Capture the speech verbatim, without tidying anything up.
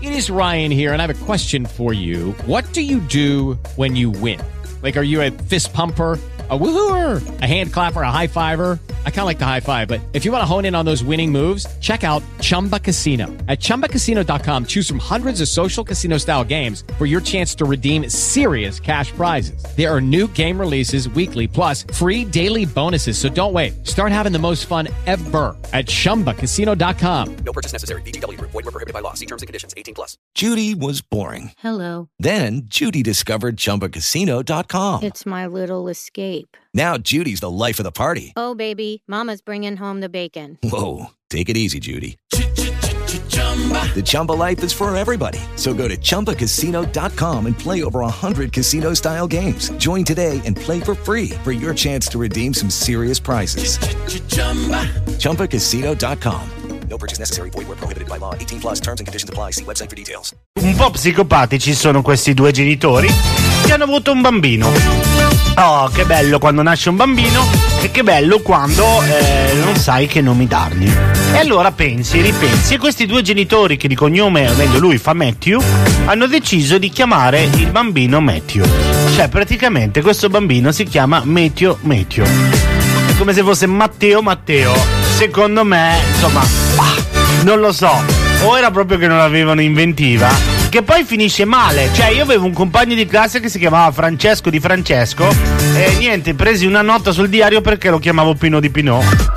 It is Ryan here, and I have a question for you. What do you do when you win? Like, are you a fist pumper, a woohooer, a hand clapper, a high fiver? I kind of like the high five, but if you want to hone in on those winning moves, check out Chumba Casino. At chumba casino dot com, choose from hundreds of social casino style games for your chance to redeem serious cash prizes. There are new game releases weekly, plus free daily bonuses. So don't wait. Start having the most fun ever at chumba casino dot com. No purchase necessary. V G W Group. Void where prohibited by law. See terms and conditions. eighteen plus. Judy was boring. Hello. Then Judy discovered chumba casino dot com. It's my little escape. Now Judy's the life of the party. Oh, baby, mama's bringing home the bacon. Whoa, take it easy, Judy. The Chumba life is for everybody. So go to chumba casino dot com and play over one hundred casino-style games. Join today and play for free for your chance to redeem some serious prizes. chumba casino dot com. No purchase necessary. Void where prohibited by law. eighteen plus. Terms and conditions apply. See website for details. Un po' psicopatici sono questi due genitori che hanno avuto un bambino. Oh, che bello quando nasce un bambino e che bello quando eh, non sai che nomi dargli. E allora pensi, ripensi, e questi due genitori che di cognome, o meglio lui fa Matthew, hanno deciso di chiamare il bambino Matthew. Cioè praticamente questo bambino si chiama Matthew Matthew. È come se fosse Matteo Matteo. Secondo me, insomma, bah, non lo so, o era proprio che non avevano inventiva, che poi finisce male. Cioè io avevo un compagno di classe che si chiamava Francesco di Francesco e niente, presi una nota sul diario perché lo chiamavo Pino di Pinot.